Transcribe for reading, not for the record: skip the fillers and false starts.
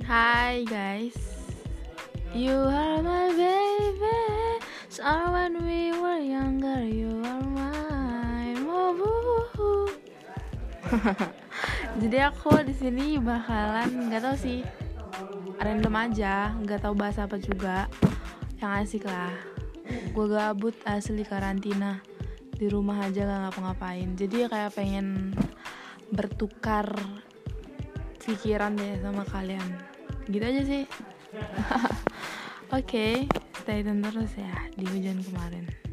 Hi guys, you are my baby. So when we were younger, you are mine. Woo. Jadi aku di sini bakalan nggak tahu sih, random aja, nggak tahu bahas apa juga. Yang asik lah. Gue gabut asli karantina di rumah aja gak ngapa-ngapain. Jadi kayak pengen bertukar pikiran deh sama kalian. Gitu aja sih. Oke, stay tune terus ya di hujan kemarin.